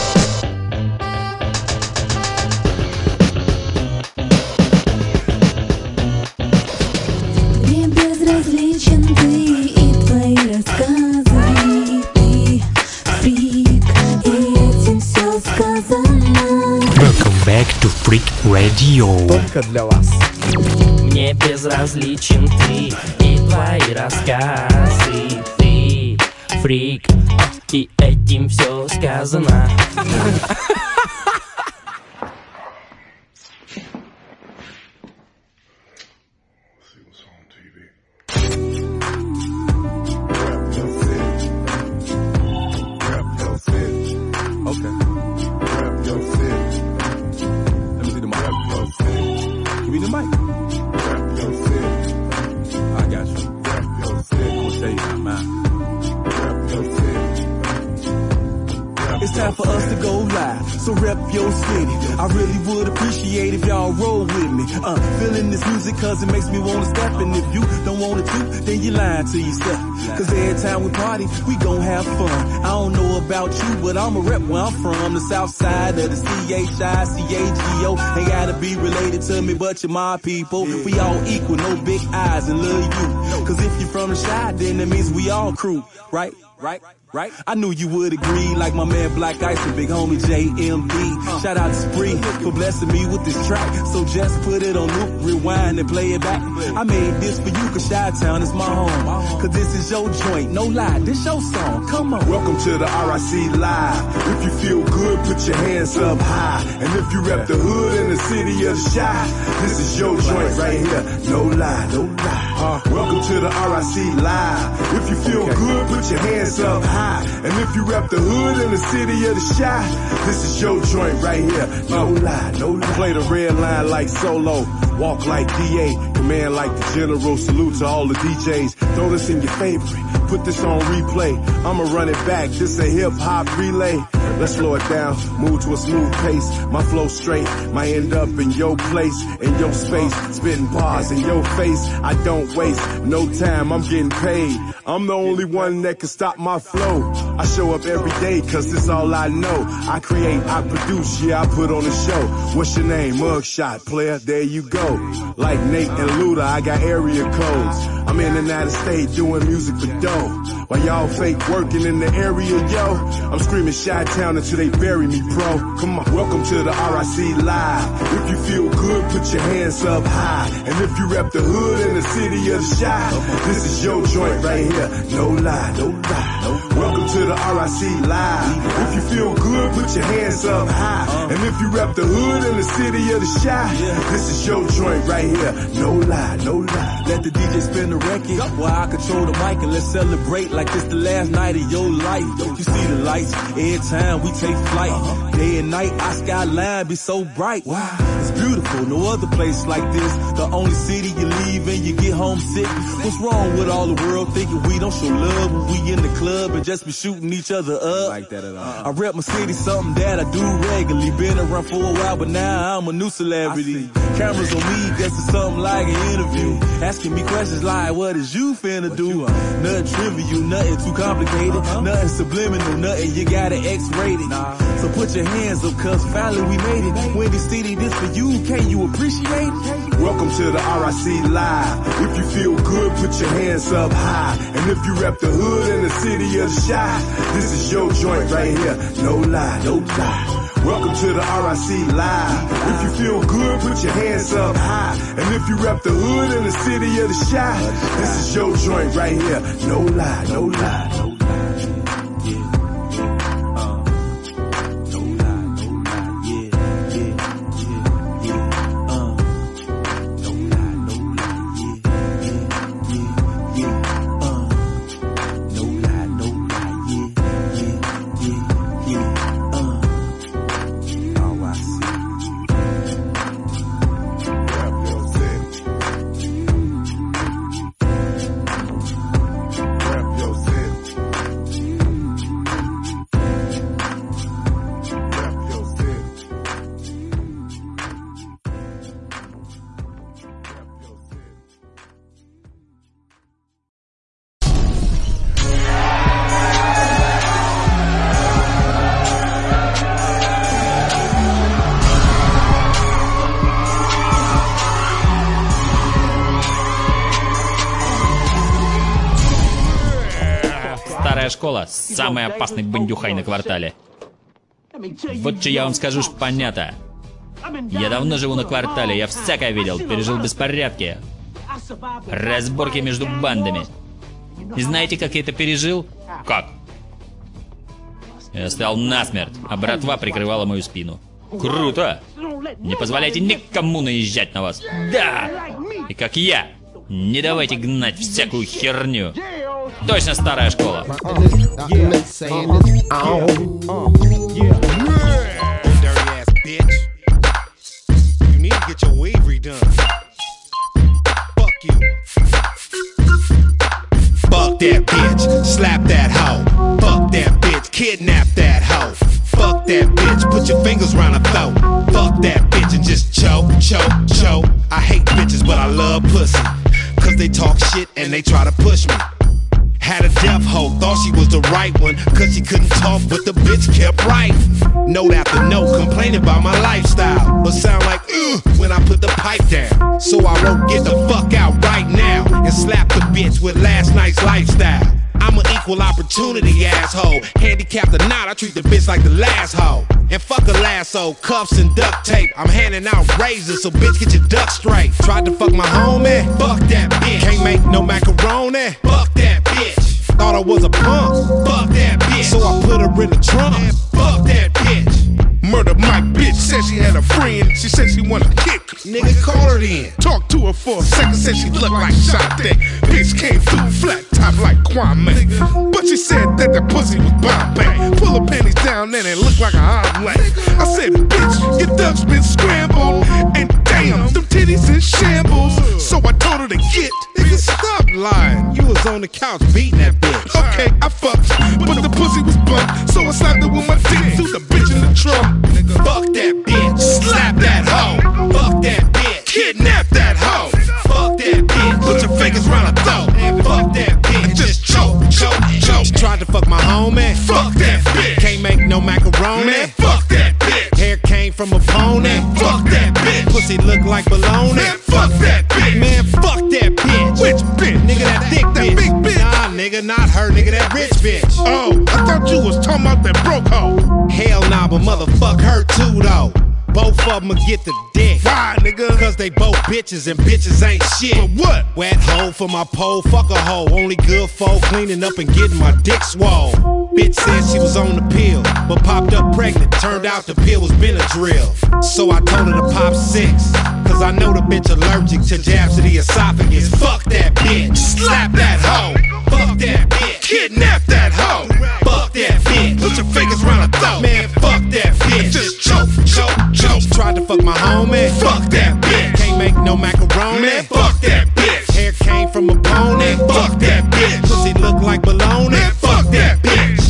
S17: Мне безразличен ты и твои рассказы. Ты фрик, и этим все сказано.
S7: Welcome back to Freak Radio.
S18: Только для вас.
S19: Мне безразличен ты и твои рассказы. Ты фрик, и этим все сказано.
S18: It's time for us to go live, so rep your city. I really would appreciate if y'all roll with me. Uh, feeling this music cause it makes me wanna step. And if you don't want it to, then you're lying to yourself. Cause every time we party, we gon' have fun. I don't know about you, but I'm a rep where I'm from. The south side of the C H I C A G O. Ain't gotta be related to me, but you're my people. We all equal, no big eyes and love you. Cause if you're from the side, then that means we all crew, right? Right? Right? I knew you would agree, like my man Black Ice and big homie J M D. Shout out to Spree for blessing me with this track. So just put it on loop, rewind and play it back. I made this for you cause Chi-Town is my home. Cause this is your joint, no lie, this your song, come on.
S20: Welcome to the R I C Live. If you feel good, put your hands up high. And if you rep the hood in the city of the Chi, this is your joint right here, no lie, no lie. Uh, welcome to the R I C Live. If you feel good, put your hands up high. And if you rep the hood in the city of the Chi, this is your joint right here. No lie, no lie. Play the red line like Solo, walk like D A, command like the General. Salute to all the D Js. Throw this in your favorite. Put this on replay. I'ma run it back. This a hip hop relay. Let's slow it down, move to a smooth pace. My flow straight, might end up in your place, in your space, spitting bars in your face. I don't waste no time, I'm getting paid. I'm the only one that can stop my flow. I show up every day cause this all I know. I create, I produce, yeah, I put on a show. What's your name? Mugshot, player, there you go. Like Nate and Luda, I got area codes. I'm in the United States doing music for dough. While y'all fake working in the area, yo, I'm screaming Chi-Town until they bury me, bro. Come on, welcome to the R I C Live. If you feel good, put your hands up high. And if you rep the hood in the city of the Chi, this is your joint right here, no lie, no lie. Welcome to the R I C Live. If you feel good, put your hands up high. And if you rep the hood in the city of the Chi, this is your joint right here, no lie, no lie.
S18: Let the D J spin the record while I control the mic, and let's celebrate like this the last night of your life. You see the lights every time we take flight. Day and night, our skyline be so bright. Wow, it's beautiful, no other place like this. The only city you leave and you get homesick. What's wrong with all the world thinking we don't show love when we in the club and just be shooting each other up? Like that at all. I rep my city, something that I do regularly. Been around for a while, but now I'm a new celebrity. Cameras on me, guess it's something like an interview. Asking me questions like, what is you finna do? Nothing trivial, nothing too complicated, uh-huh. Nothing subliminal, nothing you gotta X-rated. Nah. So put your hands up, cause finally we made it. Windy City, this for you, can you appreciate it?
S20: Welcome to the R I C Live. If you feel good, put your hands up high. And if you rep the hood in the city of the Chi, this is your joint right here, no lie, no lie. Welcome to the R I C Live. If you feel good, put your hands up high. And if you rep the hood in the city of the Chi, this is your joint right here, no lie, no lie, no lie.
S21: Школа, самый опасный бандюхай на квартале. Вот что я вам скажу, ж понятно. Я давно живу на квартале, я всякое видел, пережил беспорядки, разборки между бандами. И знаете, как я это пережил? Как? Я стоял насмерть, а братва прикрывала мою спину. Круто! Не позволяйте никому наезжать на вас. Да! И как я, не давайте гнать всякую херню. Точно старая школа.
S22: Fuck that bitch, slap that hoe. Fuck that bitch, kidnap that hoe. Fuck that bitch, put your fingers round her throat. Fuck that bitch and just choke, choke, choke. I hate bitches, but I love pussy. Cause they talk shit and they try to push me. Had a deaf hoe, thought she was the right one, cause she couldn't talk, but the bitch kept writing. Note after note, complaining about my lifestyle, but sound like ugh when I put the pipe down. So I wrote, get the fuck out right now, and slap the bitch with last night's lifestyle. I'm an equal opportunity asshole. Handicapped or not, I treat the bitch like the last hoe. And fuck a lasso, cuffs and duct tape. I'm handing out razors, so bitch get your duck straight. Tried to fuck my homie, fuck that bitch. Can't make no macaroni, fuck that bitch. Thought I was a punk, fuck that bitch. So I put her in the trunk, fuck that bitch.
S14: Murder Mike bitch said she had a friend. She said she wanna kick.
S22: Nigga, call her in.
S14: Talked to her for a second, said she looked like Sade. Bitch came through flat top like Kwame. But she said that the pussy was Bombay. Pull her panties down and it looked like a omelet. I said, bitch, your duck's been scrambled. And damn, them titties in shambles. So I told her to get.
S22: Nigga, stop lying. You was on the couch beating that bitch.
S14: Okay, I fucked, but the pussy was bumped. So I slapped her with my dick, threw the bitch in the trunk.
S22: Fuck that bitch, slap that hoe. Fuck that bitch,
S14: kidnap that hoe.
S22: Fuck that bitch,
S14: put your fingers round her throat.
S22: Fuck that bitch,
S14: and just choke, choke, choke.
S22: She tried to fuck my homie.
S14: Fuck that bitch,
S22: can't make no macaroni.
S14: Man, fuck that bitch.
S22: Hair came from a pony.
S14: Fuck that bitch.
S22: Pussy look like baloney.
S14: Man, fuck that bitch.
S22: Man, fuck that bitch.
S14: Which bitch?
S22: Nigga, that thick
S14: that
S22: bitch.
S14: Big bitch.
S22: Nah, nigga, not her. Nigga, that rich bitch.
S14: Oh, I thought you was talking about that broke hoe.
S22: Hell nah, but motherfuck her too though. Both of them get the dick.
S14: Why, nigga?
S22: Cause they both bitches and bitches ain't shit.
S14: But what?
S22: Wet hoe for my pole, fuck a hoe. Only good folk cleaning up and getting my dick swole. Bitch said she was on the pill, but popped up pregnant. Turned out the pill was Benadryl. So I told her to pop six. Cause I know the bitch allergic to jabs to the esophagus. Fuck that bitch, slap that hoe. Fuck that bitch,
S14: kidnap that hoe.
S22: Fuck that bitch,
S14: put your fingers round her throat.
S22: Man, fuck that bitch,
S14: just choke, choke, choke.
S22: She tried to fuck my homie.
S14: Fuck that bitch,
S22: can't make no macaroni.
S14: Man, fuck that bitch.
S22: Hair came from a pony.
S14: Fuck that bitch.
S22: Pussy look like baloney.
S14: Man, fuck that bitch.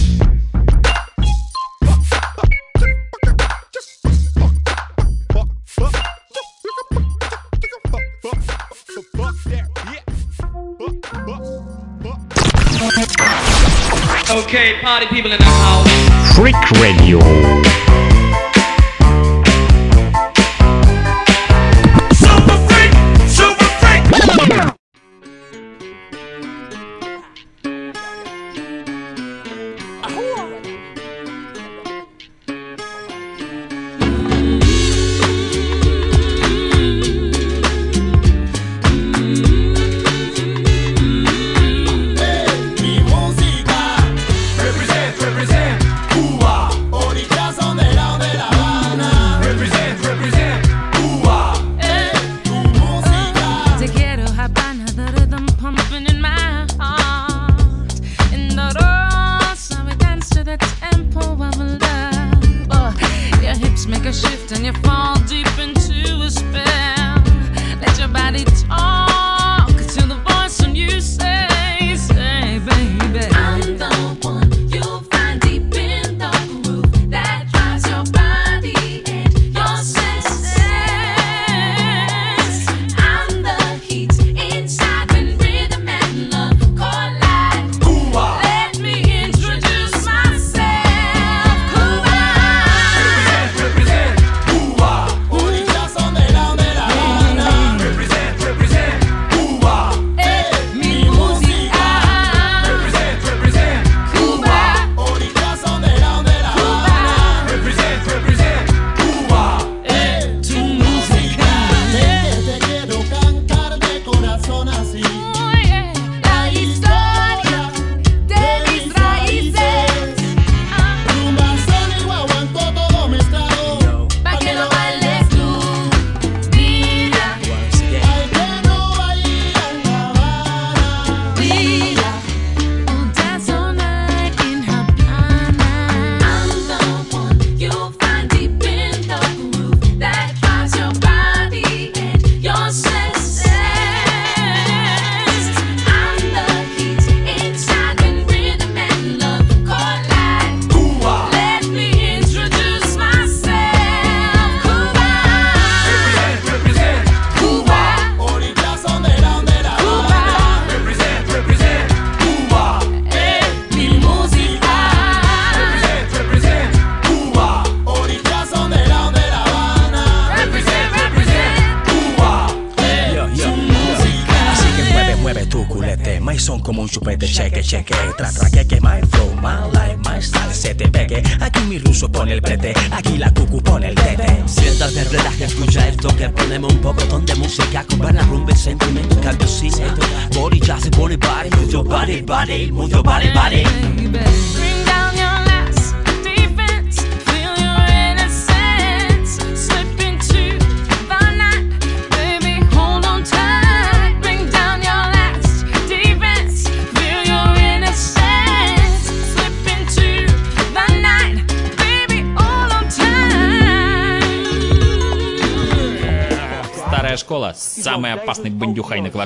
S1: Okay, party people in the house.
S2: Freak Radio.
S1: Super freak, super freak.
S9: Represent, represent, Cuba, orilla son de la
S4: cheque, tra tra que que my flow, my life, my style, se te pegue. Aquí mi ruso pone el prete, aquí la cucu pone el tete.
S6: Siéntate, relaja, escucha esto que ponemos un poco de música con buena rumba y sentimiento, cambio sí. Body ya se pone body, move your body, body, move your body, body.
S15: Bring down your last defense, feel your innocence, slip into the night, baby, hold on tight. Bring down your last defense, feel your innocence, slip into the night, baby, hold on tight.
S21: Старая школа, самый опасный бандюхай на квартале.